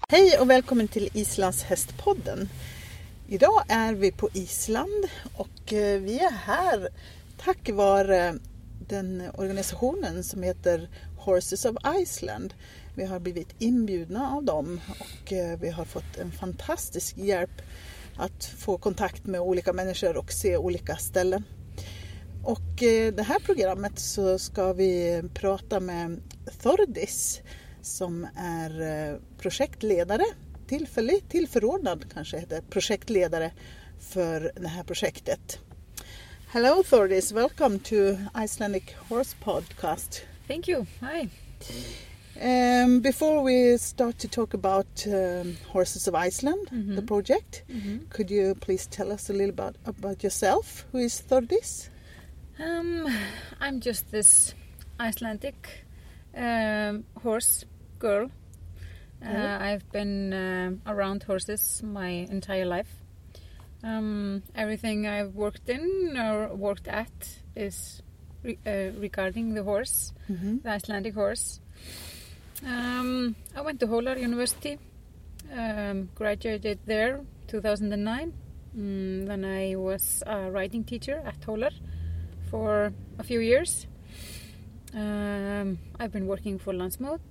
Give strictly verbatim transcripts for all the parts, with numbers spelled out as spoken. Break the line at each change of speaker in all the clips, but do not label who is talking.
Hej och välkommen till Islands hästpodden. Idag är vi på Island och vi är här tack vare den organisationen som heter Horses of Iceland. Vi har blivit inbjudna av dem och vi har fått en fantastisk hjälp att få kontakt med olika människor och se olika ställen. Och i det här programmet så ska vi prata med Þórdís som är projektledare, tillfällig, tillförordnad kanske heter projektledare för det här projektet. Hello Þórdís, welcome to Icelandic Horse Podcast.
Thank you, hi.
Um, before we start to talk about um, Horses of Iceland, mm-hmm. the project, mm-hmm. could you please tell us a little about, about yourself? Who is Þórdís?
Um, I'm just this Icelandic um, horse girl. Uh, mm-hmm. I've been uh, around horses my entire life. Um, everything I've worked in or worked at is re- uh, regarding the horse, mm-hmm. the Icelandic horse. Um, I went to Hólar University, um, graduated there two thousand nine. Mm, then I was a writing teacher at Hólar for a few years. Um, I've been working for Landsmót,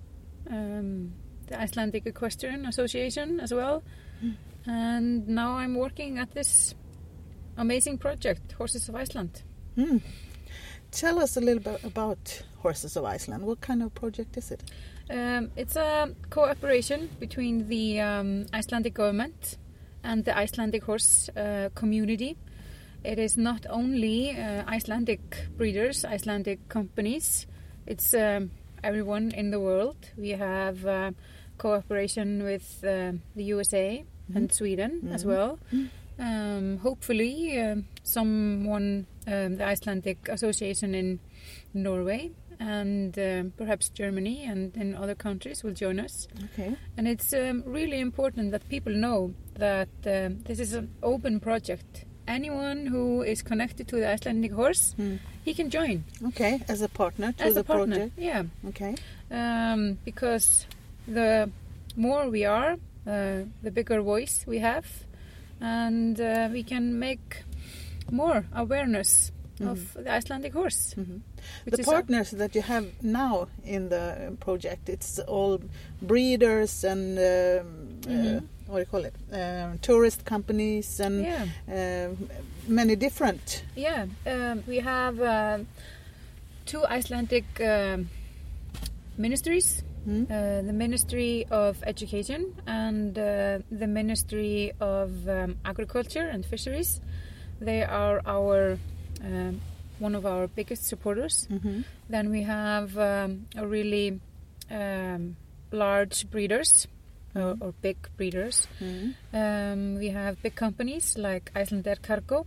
um, the Icelandic Equestrian Association as well. Mm. And now I'm working at this amazing project, Horses of Iceland.
Mm. Tell us a little bit about Horses of Iceland. What kind of project is it?
Um, it's a cooperation between the um, Icelandic government and the Icelandic horse uh, community. It is not only uh, Icelandic breeders, Icelandic companies. It's um, everyone in the world. We have uh, cooperation with uh, the U S A mm-hmm. and Sweden mm-hmm. as well. Mm-hmm. Um, hopefully, uh, someone, um, the Icelandic Association in Norway and uh, perhaps Germany and in other countries will join us.
Okay.
And it's um, really important that people know that uh, this is an open project. Anyone who is connected to the Icelandic horse, mm. he can join.
Okay, as a partner to
as
the
a partner,
project.
Yeah.
Okay.
Um, because the more we are, uh, the bigger voice we have, and uh, we can make more awareness mm-hmm. of the Icelandic horse.
Mm-hmm. The partners a- that you have now in the project, it's all breeders and um, mm-hmm. uh, what do you call it? Uh, tourist companies and
yeah.
uh, many different.
Yeah, um, we have uh, two Icelandic uh, ministries. Mm. Uh, the Ministry of Education and uh, the Ministry of um, Agriculture and Fisheries. They are our uh, one of our biggest supporters. Mm-hmm. Then we have um, a really um, large breeders. Or, or big breeders. Mm. Um, we have big companies like Icelandair Cargo.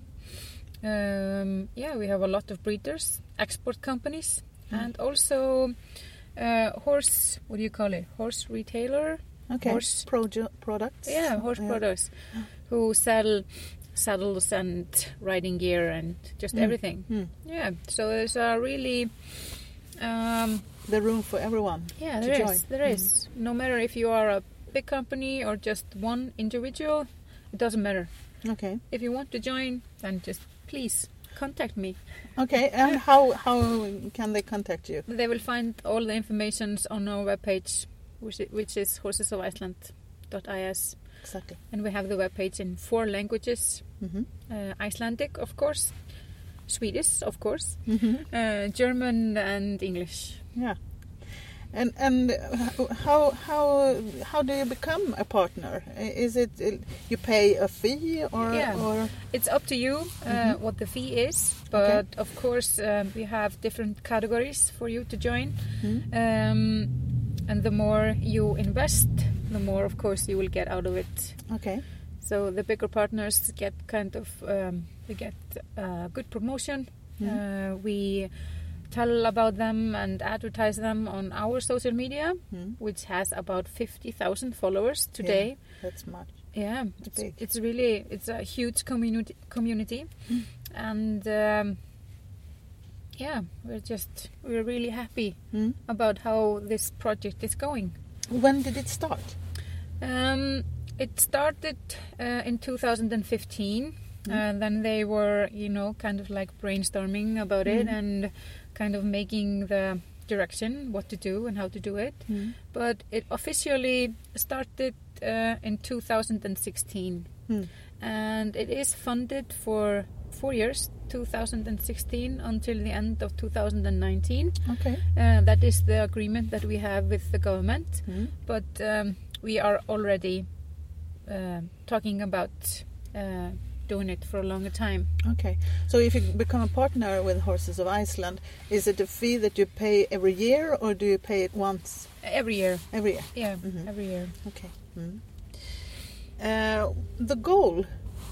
Um, yeah, we have a lot of breeders, export companies, mm. and also uh, horse. What do you call it? Horse retailer.
Okay.
Horse
Produ- products.
Yeah, horse yeah. products, who sell saddles and riding gear and just mm. everything. Mm. Yeah. So there's a really. Um,
the room for everyone.
Yeah, there
to
is.
Join.
There mm. is. No matter if you are a big company or just one individual, it doesn't matter.
Okay.
If you want to join, then just please contact me.
Okay, and how how can they contact you?
They will find all the information on our webpage, which is, which is horses of iceland dot I S.
Exactly.
And we have the webpage in four languages: mm-hmm. uh, Icelandic, of course, Swedish, of course, mm-hmm. uh, German, and English.
Yeah. And and how how how do you become a partner? Is it you pay a fee or?
Yeah,
or?
It's up to you uh, mm-hmm. what the fee is. But okay. of course um, we have different categories for you to join. Mm-hmm. Um, and the more you invest, the more of course you will get out of it.
Okay.
So the bigger partners get kind of um, they get uh, good promotion. Mm-hmm. Uh, we. tell about them and advertise them on our social media, mm. which has about fifty thousand followers today.
Yeah, that's much.
Yeah,
it's,
it's,
big.
it's really it's a huge community community, mm. and um, yeah, we're just we're really happy mm. about how this project is going.
When did it start?
Um, it started uh, in two thousand fifteen. Mm. And then they were, you know, kind of like brainstorming about mm. it and kind of making the direction, what to do and how to do it. Mm. But it officially started uh, in two thousand sixteen. Mm. And it is funded for four years, two thousand sixteen until the end of two thousand nineteen.
Okay.
Uh, that is the agreement that we have with the government. Mm. But um, we are already uh, talking about uh, doing it for a longer time.
Okay. So if you become a partner with Horses of Iceland, is it a fee that you pay every year or do you pay it once?
Every year.
Every year?
Yeah, mm-hmm. every year.
Okay. Mm-hmm. Uh, the goal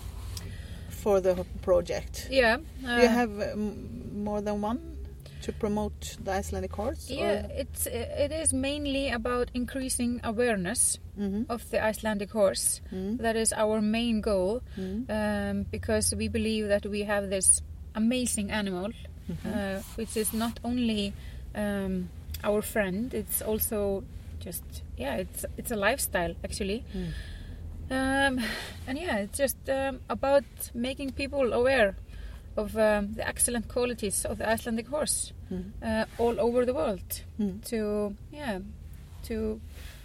for the project?
Yeah.
Uh, do you have um, more than one to promote the Icelandic horse?
Yeah,
or?
it's it is mainly about increasing awareness mm-hmm. of the Icelandic horse. Mm-hmm. That is our main goal, mm-hmm. um, because we believe that we have this amazing animal, mm-hmm. uh, which is not only um, our friend, it's also just yeah, it's it's a lifestyle actually. Mm. Um, and yeah, it's just um, about making people aware of um, the excellent qualities of the Icelandic horse mm. uh, all over the world. Mm. To yeah, to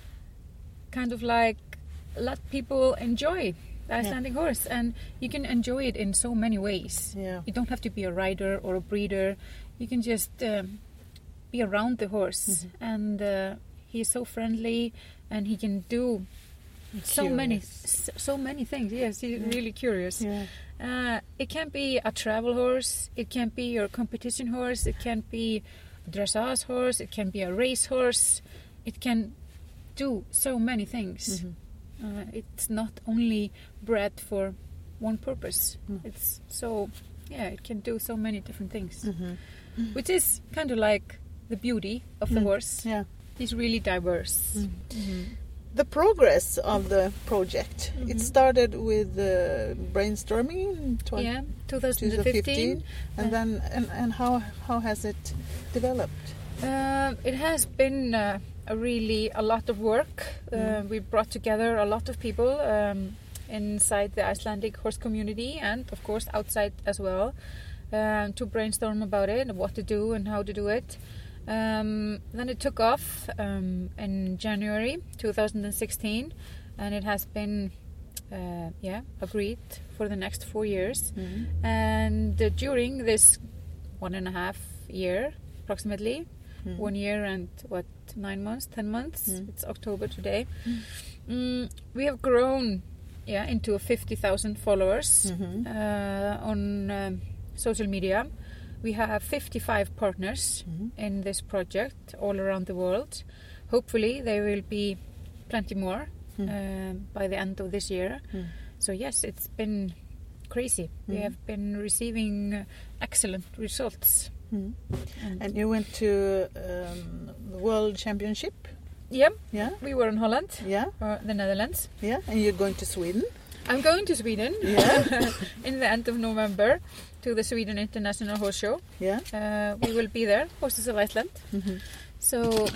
kind of like let people enjoy the Icelandic yeah. horse, and you can enjoy it in so many ways.
Yeah.
You don't have to be a rider or a breeder. You can just um, be around the horse, mm-hmm. and uh, he's so friendly, and he can do. So
curious.
many, so many things. Yes, he's yeah. really curious.
Yeah.
Uh, it can be a travel horse. It can be your competition horse. It can be a dressage horse. It can be a race horse. It can do so many things. Mm-hmm. Uh, it's not only bred for one purpose. Mm. It's so yeah. It can do so many different things, mm-hmm. which is kind of like the beauty of the
mm.
horse.
Yeah,
he's really diverse. Mm.
Mm-hmm. The progress of the project, mm-hmm. it started with uh, brainstorming in tw-
yeah, twenty fifteen,
and
uh,
then and, and how how has it developed?
Uh, it has been uh, a really a lot of work. Mm. Uh, we brought together a lot of people um, inside the Icelandic horse community and of course outside as well uh, to brainstorm about it and what to do and how to do it. Um, then it took off um, in January two thousand sixteen, and it has been uh, yeah agreed for the next four years. Mm-hmm. And uh, during this one and a half year, approximately mm-hmm. one year and what nine months, ten months. Mm-hmm. It's October today. Mm-hmm. Um, we have grown yeah into fifty thousand followers mm-hmm. uh, on um, social media. We have fifty-five partners mm-hmm. in this project all around the world. Hopefully there will be plenty more mm. uh, by the end of this year. Mm. So yes, it's been crazy. Mm. We have been receiving uh, excellent results.
Mm. And, and you went to um, the World Championship?
Yeah.
Yeah.
We were in Holland.
Yeah.
Or the Netherlands.
Yeah. And you're going to Sweden?
I'm going to Sweden
yeah.
in the end of November to the Sweden International Horse Show.
Yeah.
Uh, we will be there, Horses of Iceland.
Mm-hmm.
So,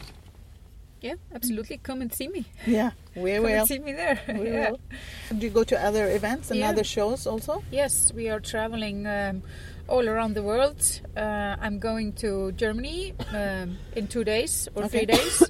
yeah, absolutely, come and see me.
Yeah, we
come
will.
And see me there.
We
yeah.
will. Do you go to other events and
yeah.
other shows also?
Yes, we are traveling um, all around the world. Uh, I'm going to Germany um, in two days or
okay.
three days.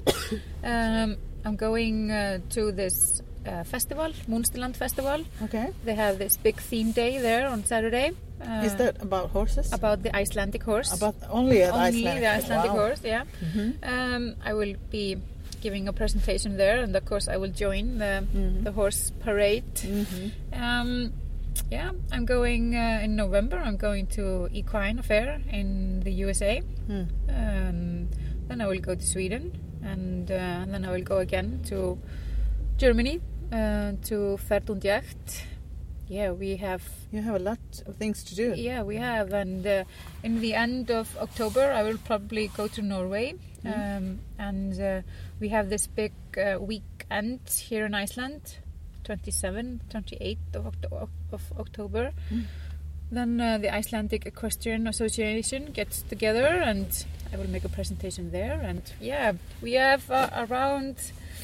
um, I'm going uh, to this uh, festival, Munsterland Festival.
Okay.
They have this big theme day there on Saturday.
Uh, Is that about horses?
About the Icelandic horse.
About only the
only
Icelandic,
the Icelandic
wow.
horse, yeah.
Mm-hmm.
Um, I will be giving a presentation there, and of course I will join the mm-hmm. the horse parade. Mm-hmm. Um, yeah, I'm going uh, in November. I'm going to Equine Fair in the U S A. Mm. Um, then I will go to Sweden, and, uh, and then I will go again to Germany uh, to Pferd und Jagd. Yeah, we have...
You have a lot of things to do.
Yeah, we have. And uh, in the end of October, I will probably go to Norway. Mm. Um, and uh, we have this big uh, weekend here in Iceland, twenty-seventh, twenty-eighth of, Octo- of October. Mm. Then uh, the Icelandic Equestrian Association gets together and I will make a presentation there. And yeah, we have uh, around...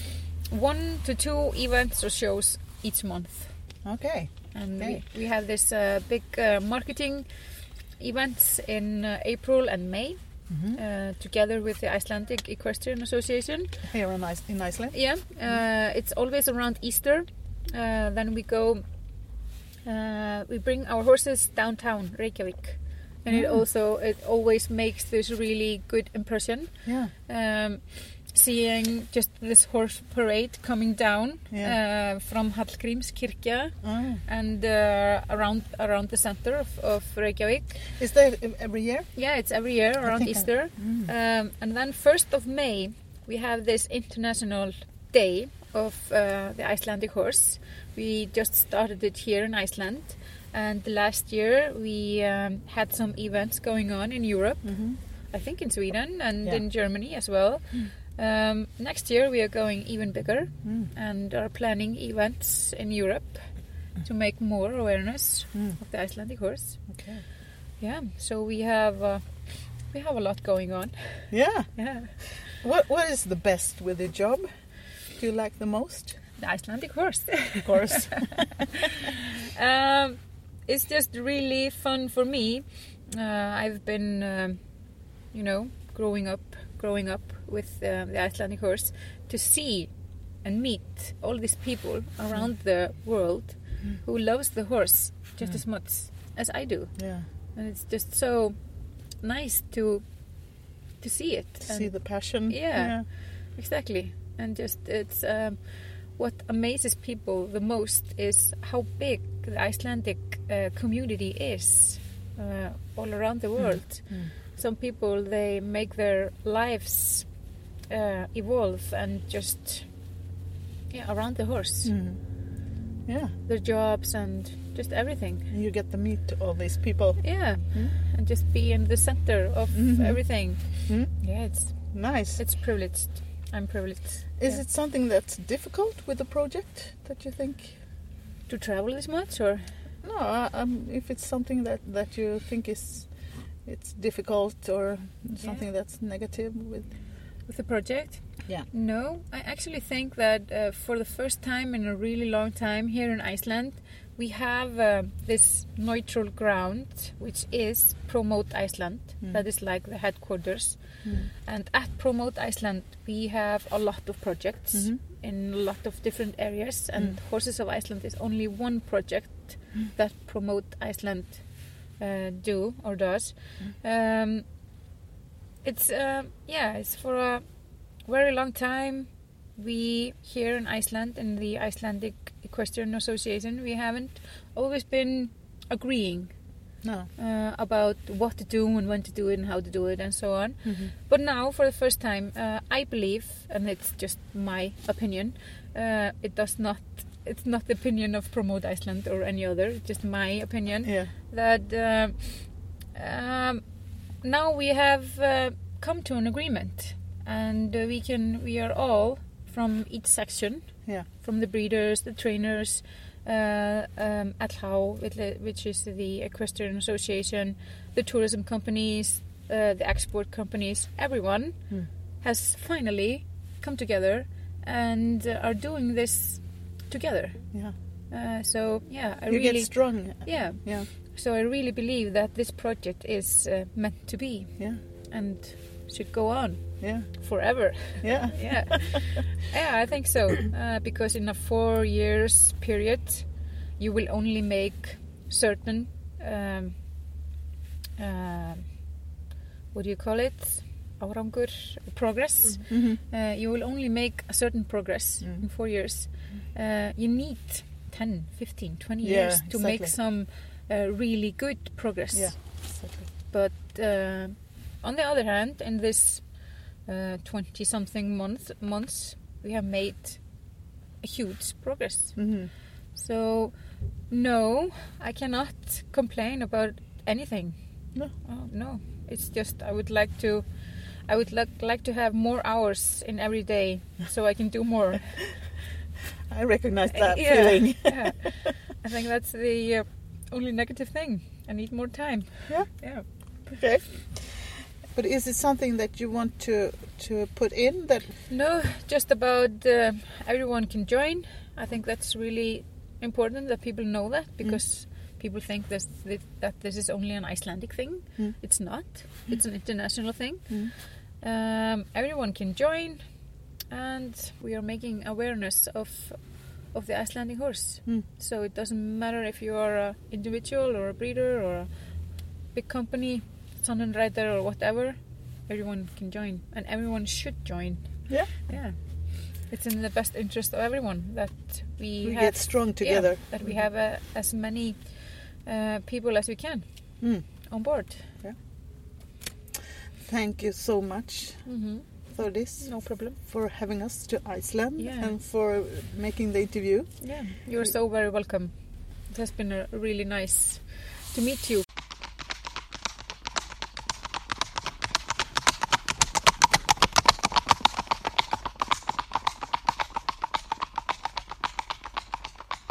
one to two events or shows each month.
Okay.
And
Okay.
we, we have this uh, big uh, marketing events in uh, April and May,
Mm-hmm.
uh, together with the Icelandic Equestrian Association.
Here in, Ice- in Iceland.
Yeah, uh, it's always around Easter. Uh, then we go, uh, we bring our horses downtown Reykjavik, and it
Mm.
also it always makes this really good impression.
Yeah.
Um, seeing just this horse parade coming down
Yeah.
uh, from Hallgrímskirkja
Oh.
and uh, around around the center of, of Reykjavik.
Is that every year?
Yeah, it's every year around
think I-
Easter.
Mm.
Um, and then first of May, we have this international day of uh, the Icelandic horse. We just started it here in Iceland. And last year we um, had some events going on in Europe.
Mm-hmm.
I think in Sweden and
Yeah.
in Germany as well. Um, next year we are going even bigger
Mm.
and are planning events in Europe to make more awareness
Mm.
of the Icelandic horse.
Okay.
Yeah, so we have uh, we have a lot going on.
Yeah.
Yeah,
What What is the best with the job? Do you like the most?
the Icelandic horse.
Of course.
um, it's just really fun for me. Uh, I've been, um, you know, growing up, growing up with uh, the Icelandic horse, to see and meet all these people around the world
Mm.
who loves the horse just
Mm.
as much as I do,
Yeah.
and it's just so nice to to see it.
To
and
see the passion.
Yeah. Exactly, and just it's um, what amazes people the most is how big the Icelandic uh, community is uh, all around the world.
Mm.
Some people, they make their lives uh, evolve and just yeah around the horse,
Mm. Yeah.
their jobs and just everything.
And you get to meet all these people.
Yeah,
Mm.
and just be in the center of
Mhm.
everything.
Mm.
Yeah, it's
Nice.
it's privileged. I'm privileged.
Is
yeah.
it something that's difficult with the project that you think?
To travel this much, or
No, uh, um, if it's something that, that you think is it's difficult or something that's negative with.
with the project?
Yeah.
No, I actually think that uh, for the first time in a really long time here in Iceland, we have uh, this neutral ground, which is Promote Iceland.
Mm.
That is like the headquarters.
Mm.
And at Promote Iceland, we have a lot of projects
Mhm.
in a lot of different areas. And
Mm.
Horses of Iceland is only one project
Mm.
that Promote Iceland uh, do or does. Um, it's uh, yeah, it's for a very long time. We here in Iceland, in the Icelandic Equestrian Association, we haven't always been agreeing
No.
uh, about what to do and when to do it and how to do it and so on.
Mhm.
But now, for the first time, uh, I believe, and it's just my opinion, uh, it does not. It's not the opinion of Promote Iceland or any other. It's just my opinion
Yeah.
that uh, um, now we have uh, come to an agreement, and uh, we can. We are all from each section,
Yeah.
from the breeders, the trainers, uh, um, A T H, which is the Equestrian Association, the tourism companies, uh, the export companies. Everyone
Mm.
has finally come together and uh, are doing this together.
Yeah.
Uh, so yeah, I
You
really
get strong.
yeah.
Yeah.
So I really believe that this project is uh, meant to be
Yeah.
and should go on
Yeah.
forever.
Yeah.
Yeah, yeah, I think so. Uh, because in a four years period, you will only make certain, um, uh, what do you call it? Árangur, progress.
Mhm.
Uh, you will only make a certain progress
Mm.
in four years. Uh, you need ten, fifteen, twenty
Yeah,
years to make
exactly.
some uh, really good progress.
Yeah. Exactly.
But uh, on the other hand, in this twenty-something month, months, we have made a huge progress.
Mhm.
So, no, I cannot complain about anything.
No.
Oh, no, it's just I would like to, I would like like to have more hours in every day, so I can do more.
I recognize that
Yeah,
feeling.
yeah. I think that's the uh, only negative thing. I need more time.
Yeah.
Yeah.
Okay. But is it something that you want to to put in that?
No, just about uh, everyone can join. I think that's really important that people know that, because mm. people think this, that, that this is only an Icelandic thing. Mm. It's not. Mm. It's an international thing. Mm. Um, everyone can join, and we are making awareness of of the Icelandic horse. Mm. So it doesn't matter if you are an individual or a breeder or a big company, Sonnenreiter or whatever. Everyone can join, and everyone should join.
Yeah,
yeah. It's in the best interest of everyone that we,
we
have,
get strong together.
Yeah, that we have uh, as many uh, people as we can mm. on board.
Yeah. Thank you so much
mm-hmm.
for this.
No problem.
For having us to Iceland
yeah.
and for making the interview.
Yeah, you're so very welcome. It has been a really nice to meet you.